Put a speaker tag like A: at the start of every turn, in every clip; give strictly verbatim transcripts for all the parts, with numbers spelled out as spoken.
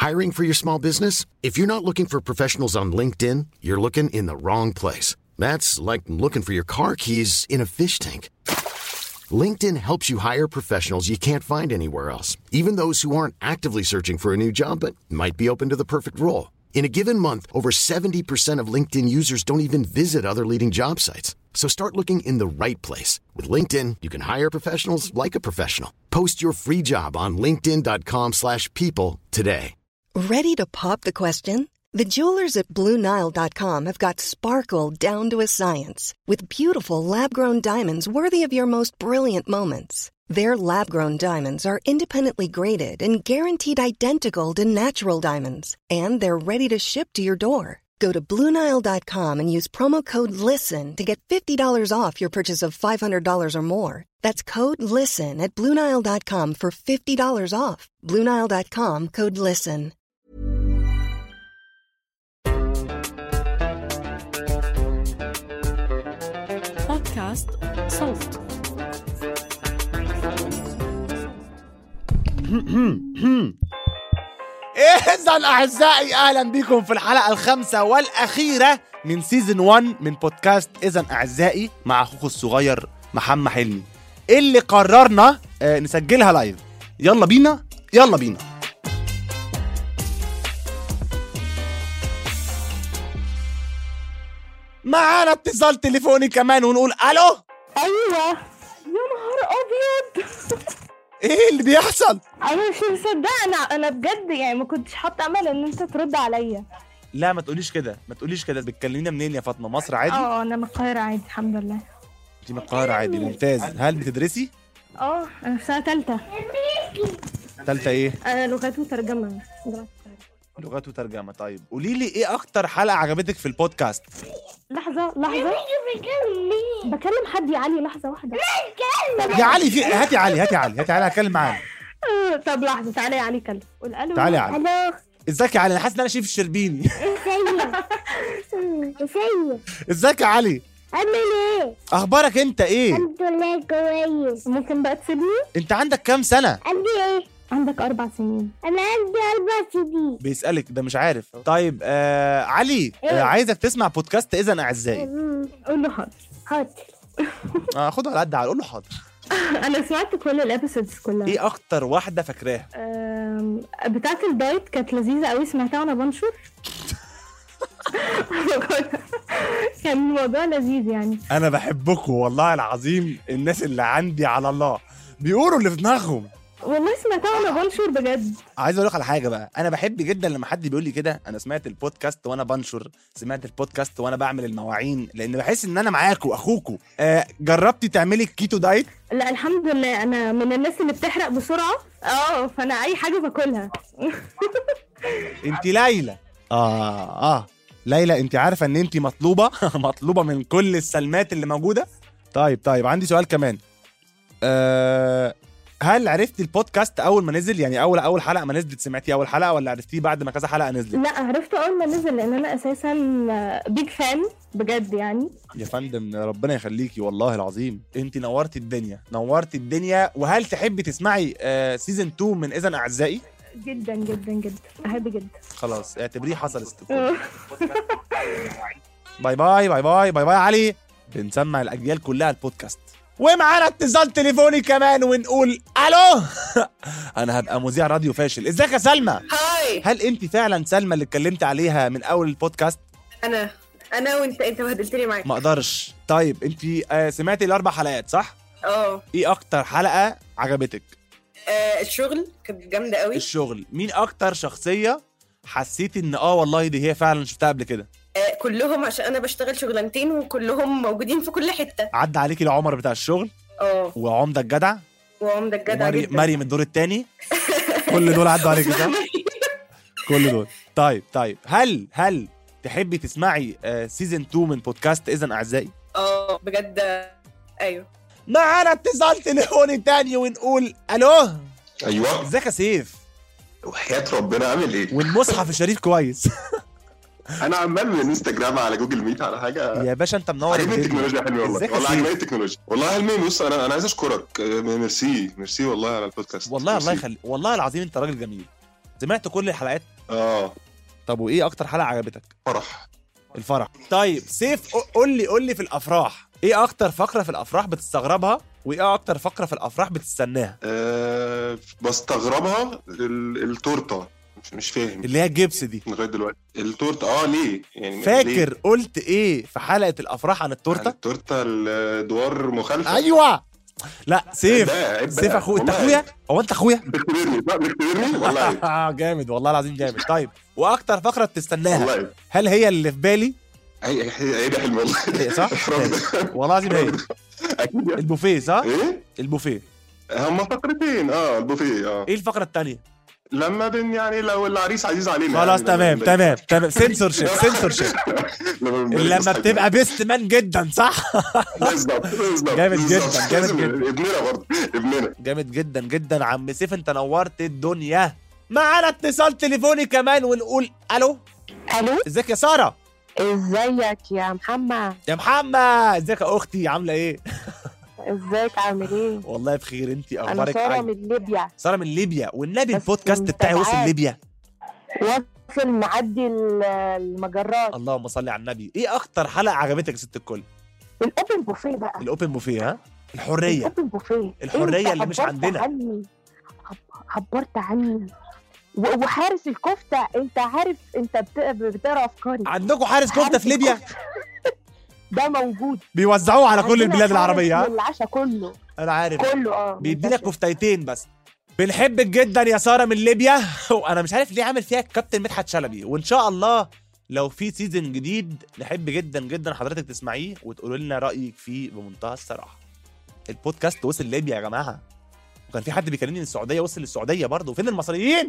A: Hiring for your small business? If you're not looking for professionals on LinkedIn, you're looking in the wrong place. That's like looking for your car keys in a fish tank. LinkedIn helps you hire professionals you can't find anywhere else, even those who aren't actively searching for a new job but might be open to the perfect role. In a given month, over seventy percent of LinkedIn users don't even visit other leading job sites. So start looking in the right place. With LinkedIn, you can hire professionals like a professional. Post your free job on linkedin.com slash people today.
B: Ready to pop the question? The jewelers at Blue Nile dot com have got sparkle down to a science with beautiful lab-grown diamonds worthy of your most brilliant moments. Their lab-grown diamonds are independently graded and guaranteed identical to natural diamonds, and they're ready to ship to your door. Go to Blue Nile dot com and use promo code LISTEN to get fifty dollars off your purchase of five hundred dollars or more. That's code LISTEN at Blue Nile dot com for fifty dollars off. Blue Nile dot com, code LISTEN.
C: بودكاست صوت.
D: إذن أعزائي أهلا بكم في الحلقة الخامسة والأخيرة من سيزن واحد من بودكاست إذن أعزائي مع أخوكم الصغير محمد حلمي اللي قررنا آه نسجلها لايف. يلا بينا يلا بينا. معانا اتصال تليفوني كمان ونقول ألو.
E: ايوه يا نهار ابيض.
D: ايه اللي بيحصل؟
E: انا مش مصدقه. انا انا بجد يعني ما كنتش حاطه امل ان انت ترد عليا.
D: لا ما تقوليش كده ما تقوليش كده. بتكلمينا منين يا فاطمه؟ مصر عادي؟
E: اه انا من القاهره عادي الحمد لله.
D: انت من القاهره عادي ممتاز. هل بتدرسي؟
E: اه انا في سنه ثالثه.
D: ثالثه ايه؟
E: انا لغات وترجمه.
D: لغات وترجمه. طيب قولي لي ايه اكتر حلقه عجبتك في البودكاست؟
E: لحظه لحظه بكلم حد يا علي. لحظه واحده
D: يا علي. في هاتي علي هاتي علي هاتي علي هتكلم معانا.
E: طب لحظه تعالى يا علي كلم. قول الو.
D: تعالى يا علي.
E: الو
D: ازيك يا علي؟ انا حاسس ان انا شايف الشربيني.
E: ازيك
D: ازيك يا علي؟
E: عامل ايه؟
D: اخبارك انت ايه؟
E: الحمد لله كويس. ممكن بقى تسيبني؟
D: انت عندك كام سنه؟
E: عندي ايه؟ عندك اربع سنين. انا عندي اربع سنين.
D: بيسالك ده مش عارف. طيب آه علي
E: إيه؟
D: آه عايزك تسمع بودكاست اذن اعزائي.
E: قول له حاضر حاضر.
D: اه خده على قد. قول له حاضر.
E: انا سمعت كل الابيسودز كلها.
D: ايه اكتر واحده فاكراها؟
E: أم... بتاعه الدايت كانت لذيذه قوي. سمعتها وانا بنشر. كان الموضوع لذيذ يعني.
D: انا بحبكم والله العظيم. الناس اللي عندي على الله بيقولوا اللي في دماغهم.
E: والله سمعتها وانا بنشر بجد.
D: عايز اقول لك على حاجه بقى. انا بحب جدا لما حد بيقول لي كده انا سمعت البودكاست وانا بنشر، سمعت البودكاست وانا بعمل المواعين، لان بحس ان انا معاكم واخوكم. آه جربتي تعملي الكيتو دايت؟
E: لا الحمد لله. انا من الناس اللي بتحرق بسرعه. اه فانا اي حاجه باكلها.
D: انت ليلى. اه اه ليلى انت عارفه ان انت مطلوبه مطلوبه من كل السلمات اللي موجوده. طيب طيب عندي سؤال كمان. آه هل عرفتي البودكاست اول ما نزل؟ يعني اول اول حلقه ما نزلت سمعتي اول حلقه ولا عرفتيه بعد ما كذا حلقه نزلت؟
E: لا عرفته اول ما نزل لان انا اساسا بيج فان بجد يعني.
D: يا فندم ربنا يخليكي والله العظيم. انت نورتي الدنيا نورتي الدنيا. وهل تحبي تسمعي آه سيزن اتنين من اذن اعزائي؟
E: جدا جدا جدا احب جدا.
D: خلاص اعتبريه حصل استقبال. باي باي باي باي باي باي علي. بنسمع الاجيال كلها البودكاست. ومعانا اتصال تليفوني كمان ونقول الو. انا هبقى مذيع راديو فاشل. ازيك يا سلمى؟
F: هاي.
D: هل انت فعلا سلمى اللي اتكلمت عليها من اول البودكاست؟
F: انا انا وانت انت بهدلتني معاك.
D: ما اقدرش. طيب انت آه سمعتي الاربع حلقات صح؟
F: اه.
D: ايه اكتر حلقه عجبتك؟
F: آه الشغل كانت جامده قوي.
D: الشغل. مين اكتر شخصيه حسيتي ان اه والله دي هي فعلا شفتها قبل كده؟
F: آه كلهم عشان انا بشتغل شغلانتين وكلهم موجودين في كل حته.
D: عدى عليكي العمر بتاع الشغل؟
F: اه.
D: وعمده الجدع
F: وعمده الجدع
D: مري...
F: جدا.
D: مريم الدور الثاني. كل دول عدوا عليكي صح؟ كل دول. طيب طيب هل هل تحبي تسمعي آه سيزن اتنين من بودكاست اذن اعزائي؟
F: اه بجد. ايوه.
D: معانا اتصال تليفوني تاني ونقول الو.
G: ايوه.
D: ازيك يا سيف؟
G: وحياة ربنا عامل ايه؟
D: والمصحف الشريف كويس؟
G: انا عمال من انستجرام على جوجل ميت على حاجه.
D: يا باشا انت منور
G: عجبني التكنولوجيا حلوه والله. والله عجبني التكنولوجيا والله. علمي بص انا انا عايز اشكرك. ميرسي ميرسي والله على البودكاست.
D: والله الله يخليك والله العظيم انت راجل جميل. سمعت كل الحلقات؟
G: اه.
D: طب وايه اكتر حلقه عجبتك؟
G: فرح.
D: الفرح. طيب سيف قول لي قول لي في الافراح ايه اكتر فقره في الافراح بتستغربها وايه اكتر فقره في الافراح بتستناها؟
G: أه بستغربها ال- التورته، مش مش فاهم
D: اللي هي الجبس دي
G: لغايه دلوقتي. التورته اه ليه يعني؟
D: فاكر
G: ليه؟
D: قلت ايه في حلقه الافراح عن التورته؟
G: التورته الادوار مخالفه.
D: ايوه. لا سيف
G: ده
D: سيف اخويا. انت اخويا؟ هو انت اخويا؟
G: بتختبرني لا بتختبرني والله.
D: جامد والله العظيم جامد. طيب واكتر فقره بتستناها
G: والله
D: هل هي اللي في بالي؟
G: هي هي ده حلم والله.
D: هي صح؟ والله العظيم هي
G: اكيد.
D: البوفيه صح؟
G: ايه
D: البوفيه.
G: هما فقرتين اه البوفيه اه.
D: ايه الفقره الثانيه؟
G: لما بن يعني لو العريس عزيز علينا
D: خلاص
G: يعني
D: تمام
G: لما-
D: تمام تمام سنسور شيب سنسور شيب
G: لما
D: لما بتبقى بيست مان جدا صح؟
G: بالظبط بالظبط
D: جامد
G: بالظبط.
D: جدا، جامد
G: لازم
D: جدا.
G: ابننا برضه ابننا.
D: جامد جدا جدا عم سيف، انت نورت الدنيا. معانا اتصال تليفوني كمان ونقول الو.
E: الو،
D: ازيك يا ساره؟
E: ازيك يا محمد؟
D: يا محمد ازيك يا اختي عامله ايه؟
E: ازيك عامل ايه؟
D: والله بخير، انت
E: انا
D: اخبارك
E: ساره
D: ايه؟
E: من ليبيا.
D: ساره من ليبيا، والنبي
E: بس
D: البودكاست
E: انت
D: بتاعي وصل
E: عارف.
D: ليبيا.
E: وصل معدي ال- المجرات.
D: اللهم صل على النبي. ايه اكتر حلقه عجبتك يا ست الكل؟
E: الاوبن بوفيه بقى.
D: الاوبن بوفيه. ها الحريه.
E: الاوبن بوفيه
D: الحرية
E: انت
D: اللي مش
E: عبرت
D: عندنا.
E: عني. عب- عبرت عني و- وحارس الكفته، انت عارف انت بت- بتقرا افكاري.
D: عندكم حارس كفته
E: حارس
D: في ليبيا؟
E: الكفتة. ده موجود
D: بيوزعوه على كل
E: عندنا
D: البلاد
E: حارس
D: العربيه. ها
E: للعشاء كله
D: انا عارف
E: كله اه
D: بيدي لك
E: منتشر.
D: كفتيتين بس. بنحبك جدا يا ساره من ليبيا. وانا مش عارف ليه عامل فيها الكابتن مدحت شلبي، وان شاء الله لو في سيزن جديد نحب جدا جدا حضرتك تسمعيه وتقولوا لنا رايك فيه بمنتهى الصراحه. البودكاست وصل ليبيا يا جماعه، وكان في حد بيكلمني من السعوديه وصل للسعوديه برضه. فين المصريين؟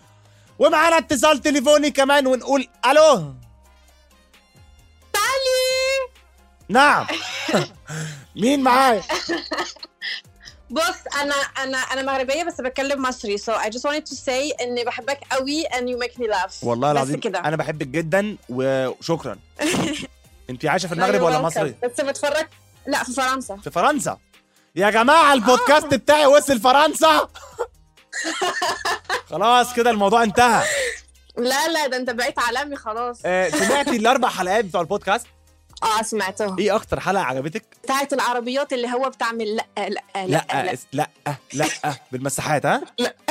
D: ومعانا اتصال تليفوني كمان ونقول الو.
F: تعالي.
D: نعم. مين معايا؟
F: بص انا انا انا مغربيه بس بتكلم مصري so I just wanted to say اني بحبك قوي and you make me laugh.
D: والله
F: بس
D: العظيم
F: كده.
D: انا بحبك جدا وشكرا. انت عايشه في
F: No,
D: المغرب
F: you're
D: ولا
F: welcome.
D: مصري؟
F: بس بتفرج لا في فرنسا.
D: في فرنسا. يا جماعه البودكاست بتاعي وصل فرنسا. خلاص كده الموضوع انتهى.
F: لا لا ده انت بقيت عالمي خلاص.
D: آه، سمعتي الاربع حلقات بتوع البودكاست؟
F: اه سمعتهم.
D: ايه اكتر حلقه عجبتك؟
F: بتاعت العربيات اللي هو بتعمل لا لا لا
D: لا
F: لا,
D: لا لا, لا بالمساحات. ها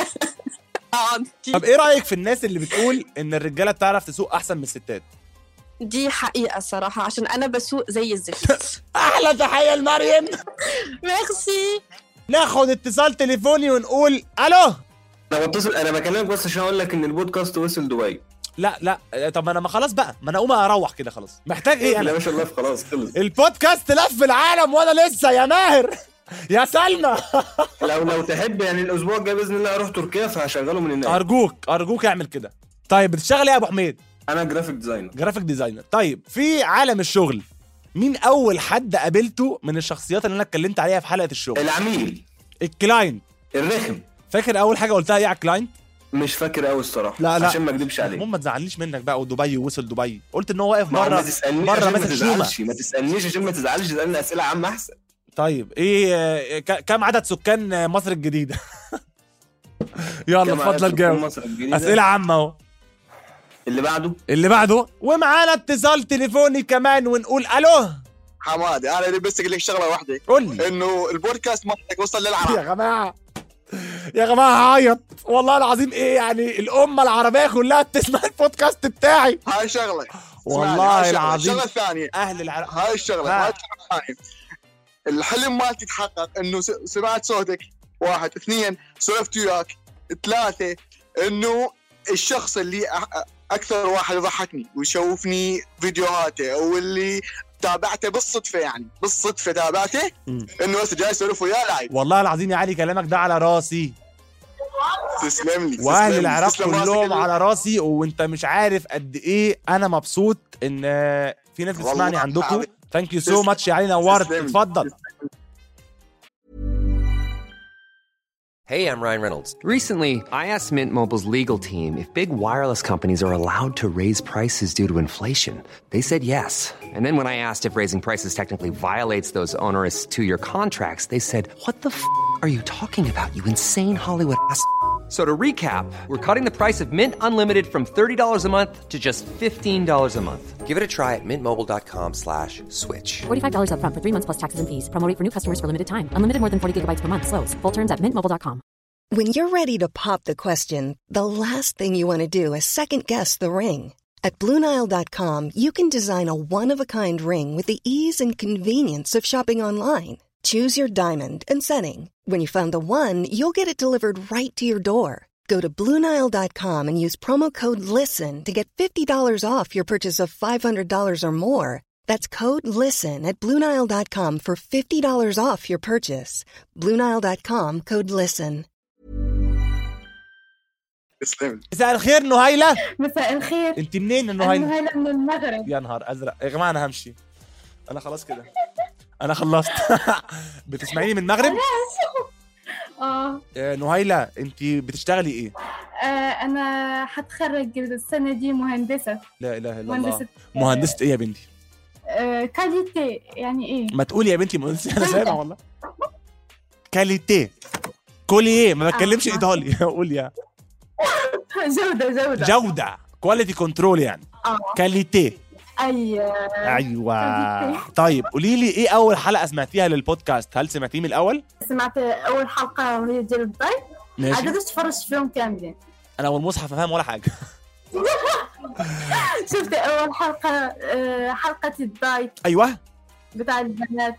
F: اه دي,
D: طب ايه رايك في الناس اللي بتقول ان الرجاله بتعرف تسوق احسن من الستات؟
F: دي حقيقه الصراحه عشان انا بسوق زي الزفت.
D: احلى تحيه لمريم.
F: ميرسي.
D: ناخد اتصال تليفوني ونقول الو.
H: انا بتصل انا بكلمك بس عشان اقول لك ان البودكاست وصل دبي.
D: لا لا طب انا ما خلاص بقى، ما انا اقوم اروح كده خلاص. محتاج ايه
H: لا
D: انا؟
H: ما شاء الله خلاص خلص.
D: البودكاست لف العالم وانا لسه يا ماهر يا سلمى.
H: لو لو تحب يعني الاسبوع الجاي باذن الله اروح تركيا فهشغله من هناك.
D: ارجوك ارجوك اعمل كده. طيب بتشتغل ايه يا ابو حميد؟
H: انا جرافيك ديزاينر.
D: جرافيك ديزاينر. طيب في عالم الشغل مين اول حد قابلته من الشخصيات اللي انا اتكلمت عليها في حلقه الشغل؟
H: العميل
D: الكلاينت.
H: الرخم.
D: فاكر اول حاجه قلتها ايه على الكلاينت؟
H: مش فاكر قوي الصراحه.
D: لا لا
H: عشان ما اكدبش عليك.
D: المهم ما تزعلنيش منك بقى. ودبي وصل دبي قلت ان هو واقف
H: ما
D: بره
H: تسالنيش
D: بره
H: عشان ما
D: ماسك شومه.
H: تزعلش ما تسالنيش عشان ما تزعلش تسالني اسئله عامه احسن.
D: طيب ايه ك- كم عدد سكان مصر الجديدة؟ يلا اتفضل جاوب. اسئله عامه اهو.
H: اللي بعده
D: اللي بعده. ومعانا اتصال تليفوني كمان ونقول الو.
I: حمادي انا اللي بس اقول لك شغله واحده،
D: قول لي
I: انه البودكاست مالك وصل
D: يا
I: للعرب.
D: جماعه يا جماعه هعيط والله العظيم. ايه يعني الامه العربيه كلها بتسمع البودكاست بتاعي؟
I: هاي شغله
D: والله العظيم.
I: الشغله الثانيه
D: اهل العراق
I: هاي الشغله
D: ها.
I: هاي الشغله الثانيه الحلم مالتي تحقق، انه س- سمعت صوتك. واحد اثنين سولفت وياك. ثلاثه انه الشخص اللي أ- اكثر واحد يضحكني ويشوفني فيديوهاته واللي تابعته بالصدفه، يعني بالصدفه تابعته
D: مم.
I: انه بس جاي اسولف وياه لايف.
D: والله العظيم يا علي كلامك ده على راسي.
I: تسلم لي.
D: واهل
I: تسلم لي.
D: العراق
I: تسلم راسك
D: كلهم
I: اللي-
D: على راسي. وانت مش عارف قد ايه انا مبسوط ان في ناس بتسمعني
I: والله
D: عندكم.
I: حبيبي.
D: ثانك يو سو
I: تسلم.
D: ماتش يا علي نورت.
I: تسلم.
D: اتفضل.
J: Hey, I'm Ryan Reynolds. Recently, I asked Mint Mobile's legal team if big wireless companies are allowed to raise prices due to inflation. They said yes. And then when I asked if raising prices technically violates those onerous two-year contracts, they said, "What the f*** are you talking about, you insane Hollywood ass?" So to recap, we're cutting the price of Mint Unlimited from thirty dollars a month to just fifteen dollars a month. Give it a try at mintmobile.com slash switch.
C: forty-five dollars up front for three months plus taxes and fees. Promo rate for new customers for limited time. Unlimited more than forty gigabytes per month. Slows full terms at mint mobile dot com.
B: When you're ready to pop the question, the last thing you want to do is second-guess the ring. At Blue Nile dot com, you can design a one-of-a-kind ring with the ease and convenience of shopping online. Choose your diamond and setting. When you find the one, you'll get it delivered right to your door. Go to Blue Nile dot com and use promo code LISTEN to get fifty dollars off your purchase of five hundred dollars or more. That's code LISTEN at Blue Nile dot com for fifty dollars off your purchase. Blue Nile dot com, code LISTEN.
D: مساء الخير نهيلة.
E: مساء الخير.
D: انت منين نهيلة؟
E: نهيلة من المغرب.
D: يا نهار ازرق يا جماعه، انا همشي، انا خلاص كده انا خلصت. بتسمعيني من المغرب؟
E: اه
D: نهيلة انت بتشتغلي ايه؟
E: آه، انا هتخرج السنه دي مهندسه.
D: لا اله الا الله.
E: مهندسة
D: مهندسة ايه يا بنتي؟
E: آه، كاليتي يعني ايه؟
D: ما تقولي يا بنتي مهندسة. انا سامع والله. كاليتي كولي ايه؟ ما بتكلمش ايطالي. قول يا
E: جوده جوده
D: جودة كواليتي كنترول يعني.
E: اه
D: كاليتي.
E: ايوه
D: ايوه. طيب قولي لي ايه اول حلقة سمعتيها للبودكاست؟ هل سمعتيه من الاول؟
E: سمعت اول حلقه وهي ديال الضيف.
D: ماشي.
E: عاد تفرجت فيهم كاملين.
D: انا والمصحف فاهم ولا حاجة.
E: شفت اول حلقه آه، حلقه الدايت
D: ايوه
E: بتاع البنات،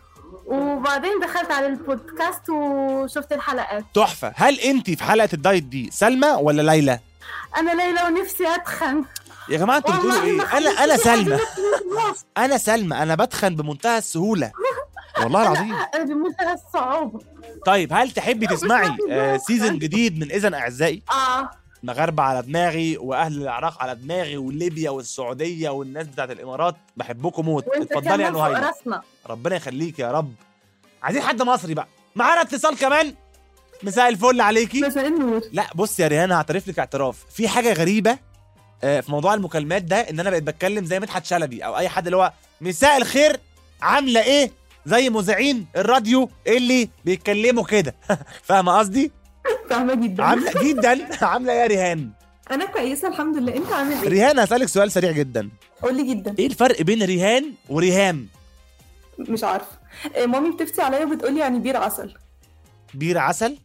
E: وبعدين دخلت على البودكاست وشفت الحلقات.
D: تحفة. هل انت في حلقة الدايت دي سلمى ولا ليلى؟
E: انا ليلى ونفسي اتخن
D: يا جماعة انتوا بتقولوا ايه؟ انا انا سلمى. انا سلمى انا بتخن بمنتهى السهولة والله العظيم.
E: انا بمنتهى الصعوبة.
D: طيب هل تحبي تسمعي آه سيزن جديد من إذن أعزائي؟
E: اه
D: مغاربة على دماغي، واهل العراق على دماغي، وليبيا والسعودية والناس بتاعت الامارات، بحبكم موت. اتفضلي يا نهيلة. ربنا يخليك يا رب. عايزين حد مصري بقى. معانا اتصال كمان. مساء الفل عليكي.
E: مساء النور.
D: لا بص يا ريهان، هعترف لك اعتراف في حاجة غريبة آه في موضوع المكالمات ده، ان انا بقيت بتكلم زي مدحت شلبي او اي حد اللي هو مساء الخير عاملة ايه، زي مذيعين الراديو اللي بيتكلموا كده. فاهمة قصدي؟
E: فاهمة جدا.
D: عاملة جدا. عاملة يا ريهان؟
E: انا كويسة الحمد لله. انت عامل ايه؟
D: ريهان هسألك سؤال سريع جدا.
E: قولي جدا.
D: ايه الفرق بين ريهان وريهام؟
E: مش عارفة. مامي بتفتي عليا وبتقولي يعني بير عسل.
D: بير عسل؟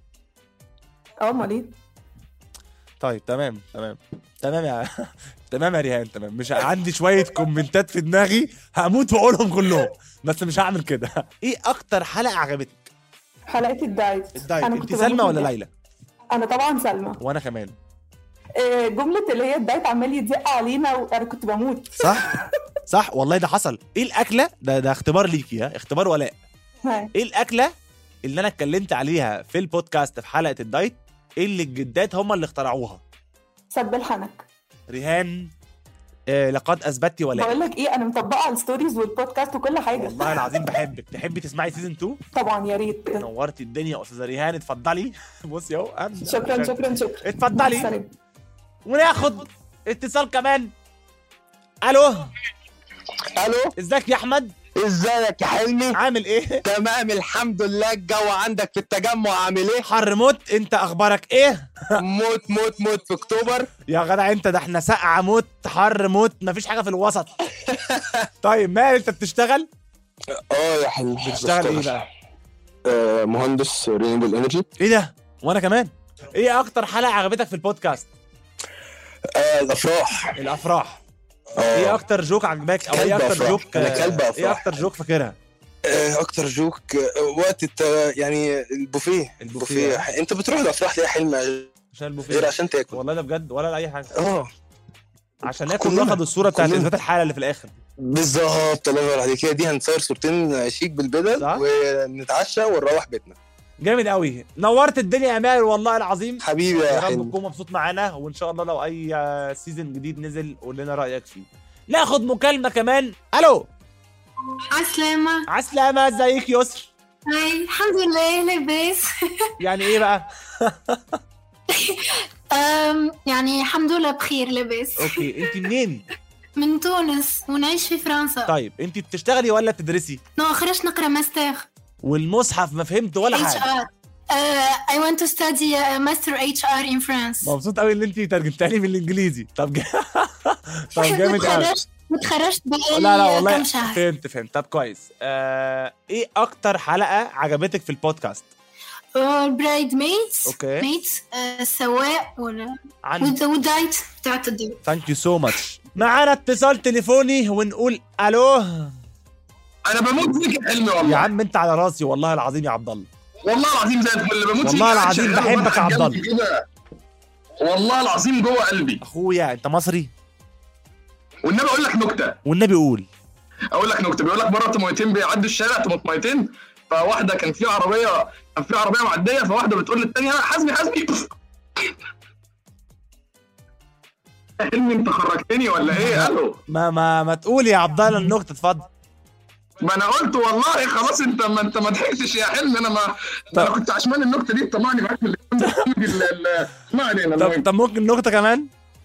E: اه امال ايه؟
D: طيب تمام تمام تمام يا تمام يا ريهان تمام. مش عندي شوية كومنتات في دماغي هموت واقولهم كلهم، بس مش هعمل كده. ايه اكتر حلقة عجبتك؟
E: حلقة الدايت.
D: الدايت. انت سلمى ولا ليلى؟
E: انا طبعا سلمى.
D: وانا كمان.
E: جملة اللي هي الدايت عمال يتزق علينا وانا كنت بموت.
D: صح صح والله ده حصل. ايه الاكلة ده ده اختبار ليكي، ها اختبار ولاء. ايه الاكلة اللي انا اتكلمت عليها في البودكاست في حلقة الدايت اللي الجدات هم اللي اخترعوها؟
E: سب الحنك.
D: ريهان آه لقد اثبتي ولاء.
E: بقول لك ايه، انا مطبقه على الستوريز والبودكاست وكل حاجه.
D: والله العظيم بحبك. تحبي تسمعي سيزون اتنين؟
E: طبعا يا ريت.
D: نورتي الدنيا يا استاذه ريهان. اتفضلي. بصي اهو.
E: شكرا شكرا شكرا.
D: اتفضلي. وناخد اتصال كمان. الو.
K: الو.
D: ازيك يا احمد؟
K: ازيك يا حلمي؟
D: عامل ايه؟
K: تمام الحمد لله. الجو عندك في التجمع عامل ايه؟
D: حر موت. انت اخبارك ايه؟
K: موت موت موت في اكتوبر.
D: يا جدع انت، ده احنا سقعه موت حر موت، مفيش حاجه في الوسط. طيب مال انت بتشتغل؟
K: اه يا حلمي.
D: بتشتغل ايه بقى؟
K: آه مهندس رينيبل انرجي.
D: ايه ده؟ وانا كمان. ايه اكتر حلقه عجبتك في البودكاست؟
K: آه الافراح.
D: الافراح.
K: آه.
D: ايه اكتر جوك عجبك او ايه اكتر جوك؟
K: انا كلب افراح.
D: ايه اكتر جوك فاكرها؟
K: آه اكتر جوك آه وقت الت... يعني البوفيه. البوفيه. انت بتروح الافراح ليه يا حلمي؟
D: عشان البوفيه
K: غير عشان تاكل.
D: والله ده بجد ولا اي حاجه.
K: اه
D: عشان ناكل وناخد الصوره بتاعت اثبات الحاله اللي في الاخر.
K: بالظبط. الله ينور عليك. دي هنصور صورتين شيك بالبدل ونتعشى ونروح بيتنا.
D: جامد قوي. نورت الدنيا يا ماهر والله العظيم.
K: حبيبي يا حلمي.
D: رب تكون مبسوط معانا، وان شاء الله لو اي سيزن جديد نزل قول لنا رايك فيه. ناخد مكالمه كمان. الو.
L: عسلامة.
D: عسلامة. ازيك يسر؟
L: هاي الحمد لله. لاباس.
D: يعني ايه بقى؟
L: أم يعني الحمد لله بخير لاباس.
D: اوكي. انت منين؟
L: من تونس ونعيش في فرنسا.
D: طيب انت بتشتغلي ولا بتدرسي؟
L: نو خرجت نقرا ماستر.
D: والمصحف ما فهمت ولا حاجه.
L: Uh, I want to study uh, Master إتش آر in France.
D: مبسوط قوي ان انت ترجمتها لي بالانجليزي. طب ج... طب جامد قوي.
L: متخرجت بقالي
D: لا لا والله
L: كم شهر.
D: فهمت فهمت. طب كويس. آه... ايه اكتر حلقة عجبتك في البودكاست؟
L: برايد ميتس.
D: اوكي.
L: ميتس السواق ولا
D: عن
L: ودايت بتاعت الدايت.
D: ثانك يو سو ماتش. معانا اتصال تليفوني ونقول الو.
M: انا بموت فيك يا حلمي والله.
D: يا عم انت على راسي والله العظيم يا عبد الله.
M: والله العظيم زي الفل بموت فيك.
D: والله العظيم بحبك يا عبد الله.
M: والله العظيم جوه قلبي.
D: اخويا انت مصري.
M: والنبي اقول لك نكته.
D: والنبي قول.
M: اقول لك نكته. بيقول لك مره طماطمين بيعدوا الشارع طماطميتين، فواحده كان في عربيه كان في عربيه معديه، فواحده بتقول للثانيه حاسبي حاسبي. حلمي انت خرجتني ولا ايه؟ الو.
D: ما ما ما تقول يا عبد الله النكته اتفضل.
M: ما انا قلت والله خلاص. انت ما انت ما ضحكتش يا حلمي. انا ما انا كنت عشمان النكته دي طمعني معاك من ال ما علينا.
D: طب طب ممكن نكته كمان؟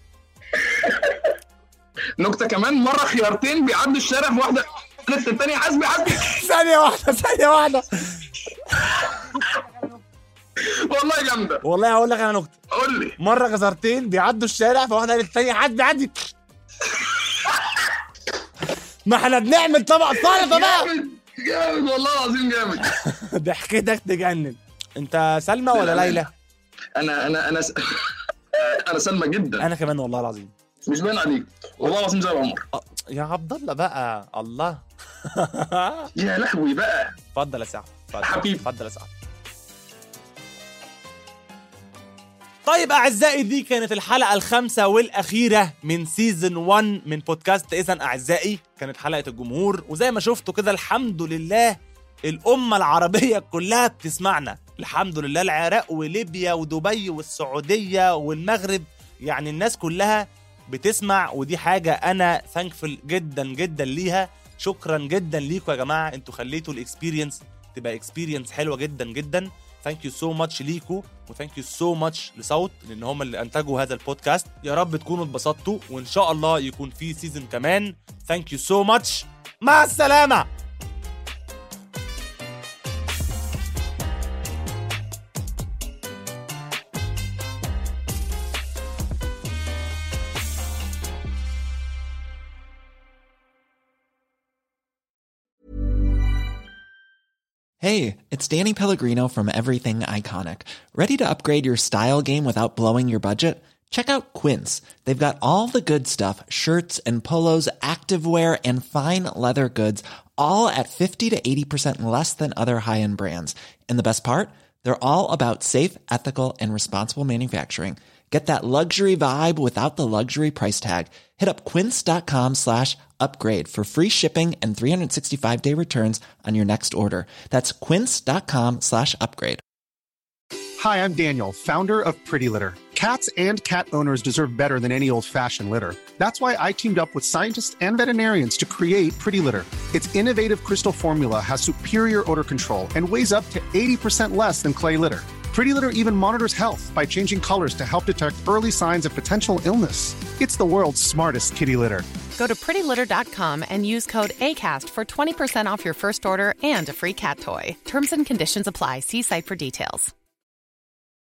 M: نكته كمان. مره خيارتين بيعدوا الشارع، في واحده قالت للثانيه حاسبي حاسبي.
D: ثانيه واحده ثانيه واحده.
M: والله جامده.
D: والله هقول لك انا نكته.
M: قول لي.
D: مره غزارتين بيعدوا الشارع، فواحده قالت للثانيه حاسبي حاسبي. ما احنا بنعمل طبق سلطه بقى.
M: جامد جامد والله العظيم جامد.
D: ضحكتك تجنن. انت سلمى ولا ليلى؟
M: انا انا انا س... انا سلمى جدا.
D: انا كمان والله العظيم.
M: مش باين عليك والله العظيم زي العمر.
D: يا عبد الله بقى الله.
M: يا لهوي بقى.
D: اتفضل يا سعد.
M: حبيبي
D: اتفضل يا سعد. طيب أعزائي، دي كانت الحلقة الخامسة والأخيرة من سيزن واحد من بودكاست إذن أعزائي. كانت حلقة الجمهور، وزي ما شفتوا كده الحمد لله الأمة العربية كلها بتسمعنا. الحمد لله. العراق وليبيا ودبي والسعودية والمغرب، يعني الناس كلها بتسمع، ودي حاجة أنا ثانكفل جدا جدا ليها. شكرا جدا ليكم يا جماعة، انتوا خليتوا الإكسبيرينس تبقى إكسبيرينس حلوة جدا جدا. ثانك يو سو ماتش ليكو، وثانك يو سو ماتش لصوت، لان هم اللي انتجوا هذا البودكاست. يا رب تكونوا اتبسطتوا، وان شاء الله يكون في سيزن كمان. ثانك يو سو ماتش. مع السلامه.
N: Hey, it's Danny Pellegrino from Everything Iconic. Ready to upgrade your style game without blowing your budget? Check out Quince. They've got all the good stuff, shirts and polos, activewear, and fine leather goods, all at fifty to eighty percent less than other high-end brands. And the best part? They're all about safe, ethical, and responsible manufacturing. Get that luxury vibe without the luxury price tag. Hit up quince.com slash upgrade for free shipping and three sixty-five day returns on your next order. That's quince.com slash upgrade.
O: Hi, I'm Daniel, founder of Pretty Litter. Cats and cat owners deserve better than any old-fashioned litter. That's why I teamed up with scientists and veterinarians to create Pretty Litter. Its innovative crystal formula has superior odor control and weighs up to eighty percent less than clay litter. Pretty Litter even monitors health by changing colors to help detect early signs of potential illness. It's the world's smartest kitty litter.
P: Go to pretty litter dot com and use code ACAST for twenty percent off your first order and a free cat toy. Terms and conditions apply. See site for details.